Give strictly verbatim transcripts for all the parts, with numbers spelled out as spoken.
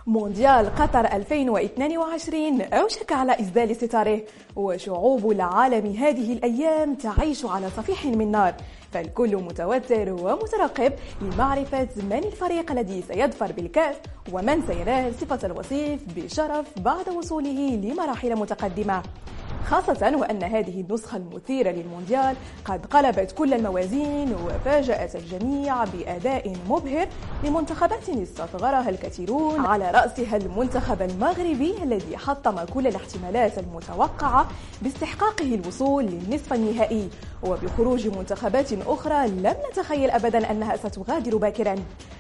مونديال قطر ألفين واثنين وعشرين أوشك على إسدال ستاره، وشعوب العالم هذه الأيام تعيش على صفيح من نار، فالكل متوتر ومترقب لمعرفة من الفريق الذي سيظفر بالكأس ومن سينال صفة الوصيف بشرف بعد وصوله لمراحل متقدمة، خاصة وأن هذه النسخة المثيرة للمونديال قد قلبت كل الموازين وفاجأت الجميع بأداء مبهر لمنتخبات استصغرها الكثيرون، على رأسها المنتخب المغربي الذي حطم كل الاحتمالات المتوقعة باستحقاقه الوصول للنصف النهائي، وبخروج منتخبات أخرى لم نتخيل أبدا أنها ستغادر باكرا.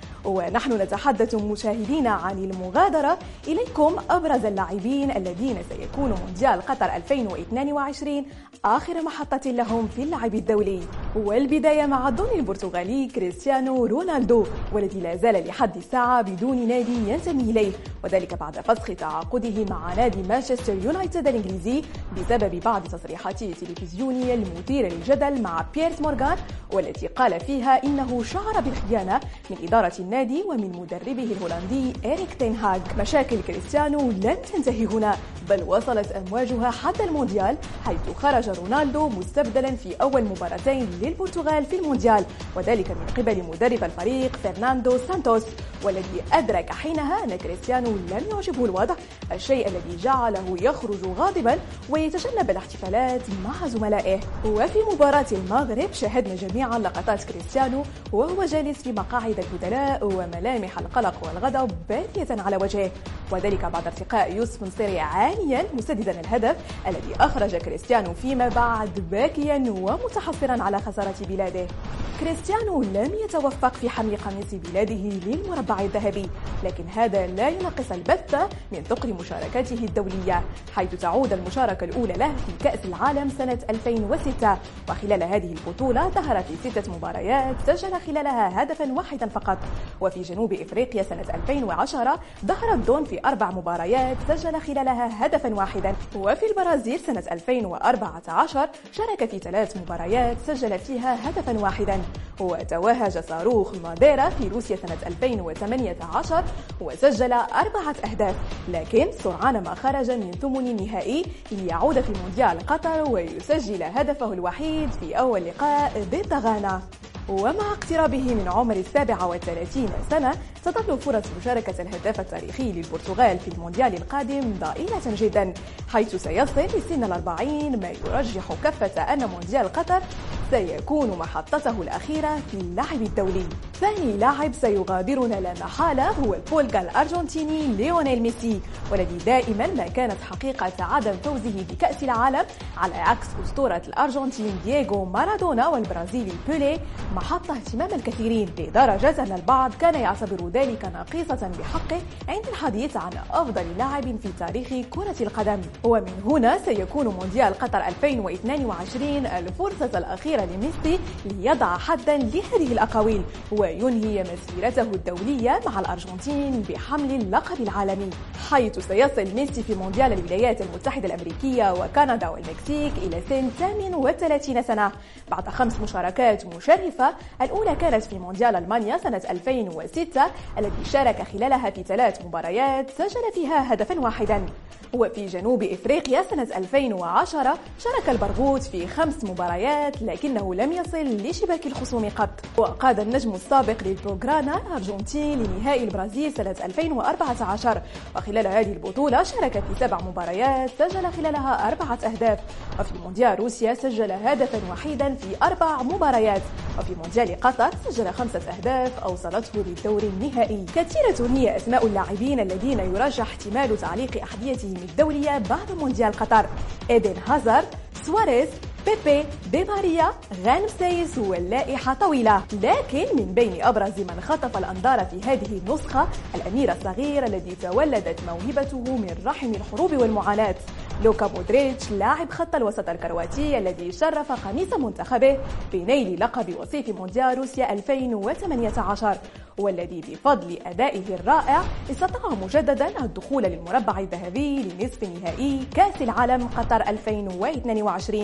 ونحن نتحدث مشاهدينا عن المغادرة إليكم أبرز اللاعبين الذين سيكون مونديال قطر ألفين واثنين وعشرين آخر محطة لهم في اللعب الدولي. والبداية مع الدون البرتغالي كريستيانو رونالدو، والذي لا زال لحد الساعة بدون نادي ينتمي إليه، وذلك بعد فسخ تعاقده مع نادي مانشستر يونايتد الإنجليزي بسبب بعض تصريحاته التلفزيونية المثيرة للجدل مع بيرس مورغان، والتي قال فيها إنه شعر بالخيانة من إدارة النادي ومن مدربه الهولندي إريك تين هاغ. مشاكل كريستيانو لم تنتهي هنا، بل وصلت أمواجها حتى المونديال، حيث خرج رونالدو مستبدلا في أول مباراتين للبرتغال في المونديال، وذلك من قبل مدرب الفريق فرناندو سانتوس، والذي أدرك حينها أن كريستيانو لم يعجبه الوضع، الشيء الذي جعله يخرج غاضبا ويتجنب الاحتفالات مع زملائه. وفي مباراة المغرب شاهدنا جميعا لقطات كريستيانو وهو جالس في مقاعد البدلاء وملامح القلق والغضب بادية على وجهه، وذلك بعد ارتقاء يوسف نصيري عاليا مسددا الهدف الذي أخرج كريستيانو فيما بعد باكيا ومتحسرا على خسارة بلاده. كريستيانو لم يتوفق في حمل قميص بلاده للمربع الذهبي، لكن هذا لا ينقص البتة من ثقل مشاركته الدولية، حيث تعود المشاركة الأولى له في كأس العالم سنة ألفين وستة، وخلال هذه البطولة ظهر في ستة مباريات سجل خلالها هدفا واحدا فقط. وفي جنوب إفريقيا سنة ألفين وعشرة ظهر الدون في أربع مباريات سجل خلالها هدفا واحدا. وفي البرازيل سنة ألفين وأربعة عشر شارك في ثلاث مباريات سجل فيها هدفا واحدا. وتوهج صاروخ ماديرا في روسيا سنة ألفين وثمانية عشر وسجل أربعة أهداف، لكن سرعان ما خرج من ثمن النهائي ليعود في مونديال قطر ويسجل هدفه الوحيد في أول لقاء ضد غانا. ومع اقترابه من عمر السابعة والثلاثين سنة تظل فرص مشاركة الهداف التاريخي للبرتغال في المونديال القادم ضئيلة جدا، حيث سيصل لسن الأربعين، ما يرجح كفة أن مونديال قطر سيكون محطته الأخيرة في اللعب الدولي. ثاني لاعب سيغادرنا لا محالة هو البولغا الأرجنتيني ليونيل ميسي، والذي دائما ما كانت حقيقة عدم فوزه بكأس العالم على عكس أسطورة الأرجنتين دييغو مارادونا والبرازيلي بيليه محط اهتمام الكثيرين، لدرجة أن البعض كان يعتبر ذلك ناقصة بحقه عند الحديث عن أفضل لاعب في تاريخ كرة القدم. ومن هنا سيكون مونديال قطر ألفين واثنين وعشرين الفرصة الأخيرة لميسي ليضع حدا لهذه الأقاويل وينهي مسيرته الدولية مع الأرجنتين بحمل اللقب العالمي، حيث سيصل ميسي في مونديال الولايات المتحدة الأمريكية وكندا والمكسيك إلى سن ثمانية وثلاثين سنة بعد خمس مشاركات مشرفة. الأولى كانت في مونديال ألمانيا سنة ألفين وستة التي شارك خلالها في ثلاث مباريات سجل فيها هدفا واحدا. وفي جنوب إفريقيا سنة ألفين وعشرة شارك البرغوث في خمس مباريات لكنه لم يصل لشباك الخصوم قط. وقاد النجم السابق للبلوغرانا الأرجنتين لنهائي البرازيل سنة ألفين وأربعة عشر، وخلال هذه البطولة شارك في سبع مباريات سجل خلالها أربعة أهداف. وفي مونديال روسيا سجل هدفا وحيدا في أربع مباريات. وفي مونديال قطر سجل خمسة أهداف أوصلته للدور النهائي. كثيرة هي أسماء اللاعبين الذين يرجح احتمال تعليق أحذيتهم الدولية بعد مونديال قطر: إيدن هازارد، سواريز، بيبي، دي ماريا، غانم سايس، واللائحة طويلة. لكن من بين أبرز من خطف الأنظار في هذه النسخة الأمير الصغير الذي تولدت موهبته من رحم الحروب والمعاناة، لوكا مودريتش، لاعب خط الوسط الكرواتي الذي شرف قميص منتخبه بنيل لقب وصيف مونديال روسيا ألفين وثمانية عشر، والذي بفضل أدائه الرائع استطاع مجددا الدخول للمربع الذهبي لنصف نهائي كأس العالم قطر ألفين واثنين وعشرين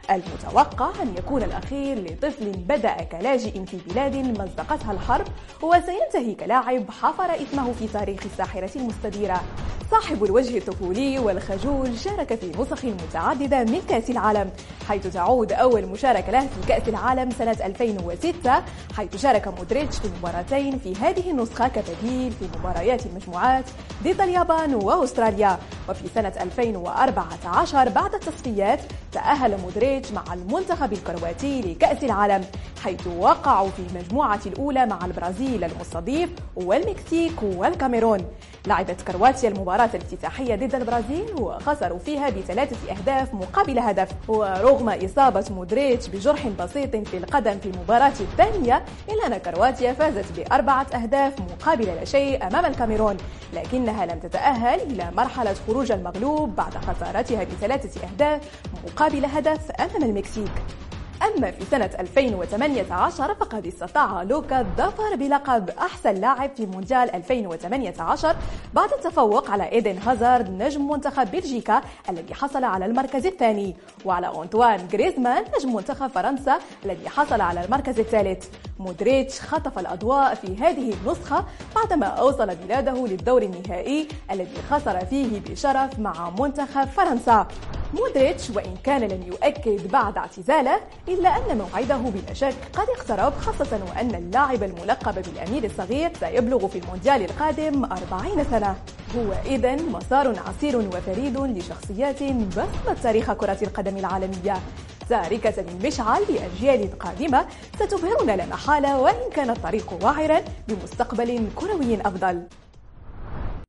المتوقع أن يكون الأخير لطفل بدأ كلاجئ في بلاد مزقتها الحرب، وسينتهي كلاعب حفر اسمه في تاريخ الساحرة المستديرة. صاحب الوجه الطفولي والخجول شارك في نسخ متعددة من كأس العالم، حيث تعود أول مشاركة له في كأس العالم سنة ألفين وستة، حيث شارك مودريتش في مباراتين في هذه النسخة كبديل في مباريات المجموعات ضد اليابان وأستراليا. وفي سنة ألفين وأربعة عشر بعد التصفيات تأهل مودريتش مع المنتخب الكرواتي لكأس العالم، حيث وقعوا في المجموعة الأولى مع البرازيل المستضيف والمكسيك والكاميرون. لعبت كرواتيا المباراة الافتتاحية ضد البرازيل وخسروا فيها بثلاثة أهداف مقابل هدف، ورغم إصابة مودريتش بجرح بسيط في القدم في المباراة الثانية إلا أن كرواتيا فازت بأربعة أهداف مقابل لا شيء أمام الكاميرون، لكنها لم تتأهل إلى مرحلة خروج المغلوب بعد خسارتها بثلاثة أهداف مقابل هدف أمام المكسيك. أما في سنة ألفين وثمانية عشر فقد استطاع لوكا الظفر بلقب أحسن لاعب في مونديال ألفين وثمانية عشر بعد التفوق على إيدن هازارد نجم منتخب بلجيكا الذي حصل على المركز الثاني، وعلى أنطوان غريزمان نجم منتخب فرنسا الذي حصل على المركز الثالث. مودريتش خطف الأضواء في هذه النسخة بعدما أوصل بلاده للدور النهائي الذي خسر فيه بشرف مع منتخب فرنسا. مودريتش وإن كان لم يؤكد بعد اعتزاله إلا أن موعده بلا شك قد اقترب، خاصة وأن اللاعب الملقب بالأمير الصغير سيبلغ في المونديال القادم أربعين سنة. هو إذن مسار عسير وفريد لشخصيات بصمت تاريخ كرة القدم العالمية، تاركة المشعل لأجيال قادمة ستبهرنا لا محالة، وإن كان الطريق واعرا بمستقبل كروي أفضل.